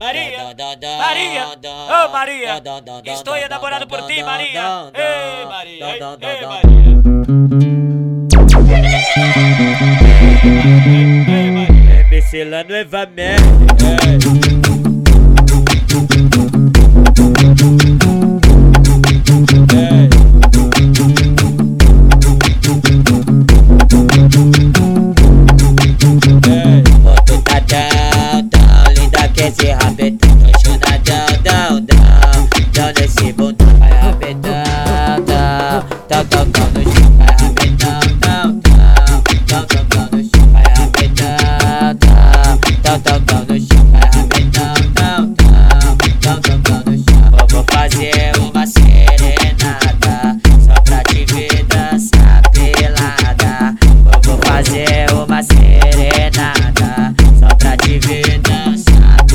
Maria, Maria, ô Maria, estou enamorado por ti, Maria. Ei, Maria, ei, Maria. MC lá nuevamente. Esse rabetão, tô chonadão, dão nesse bundão, vai rabetão, tão no chão, vai rabetão, tão no chão, vai rabetão, tão no chão, vai rabetão, tão no chão. Vou fazer uma serenata, só pra te ver dançar pelada. Vou fazer uma serenata, só pra te ver dançar.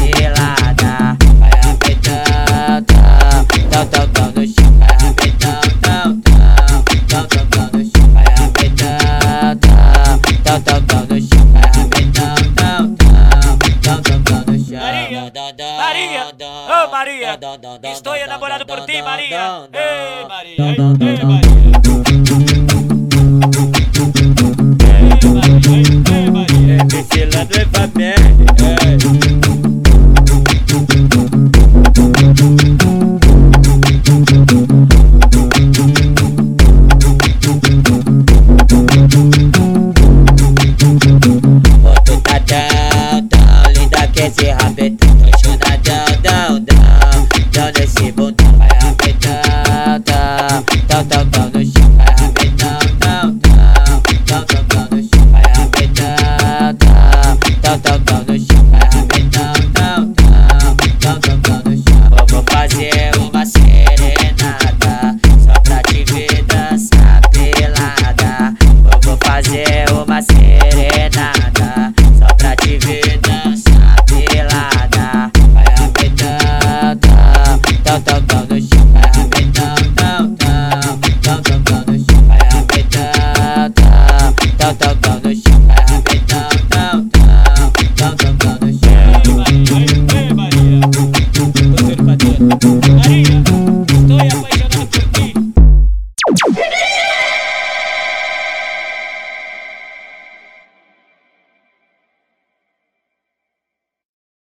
Tão no chão, vai rabetão, tão no chão, vai rabetão, tão no chão, vai rabetão, tão no chão. Maria, ô Maria, estou enamorado por ti, Maria. Ei, Maria, ei, Maria. MC lá nuevamente.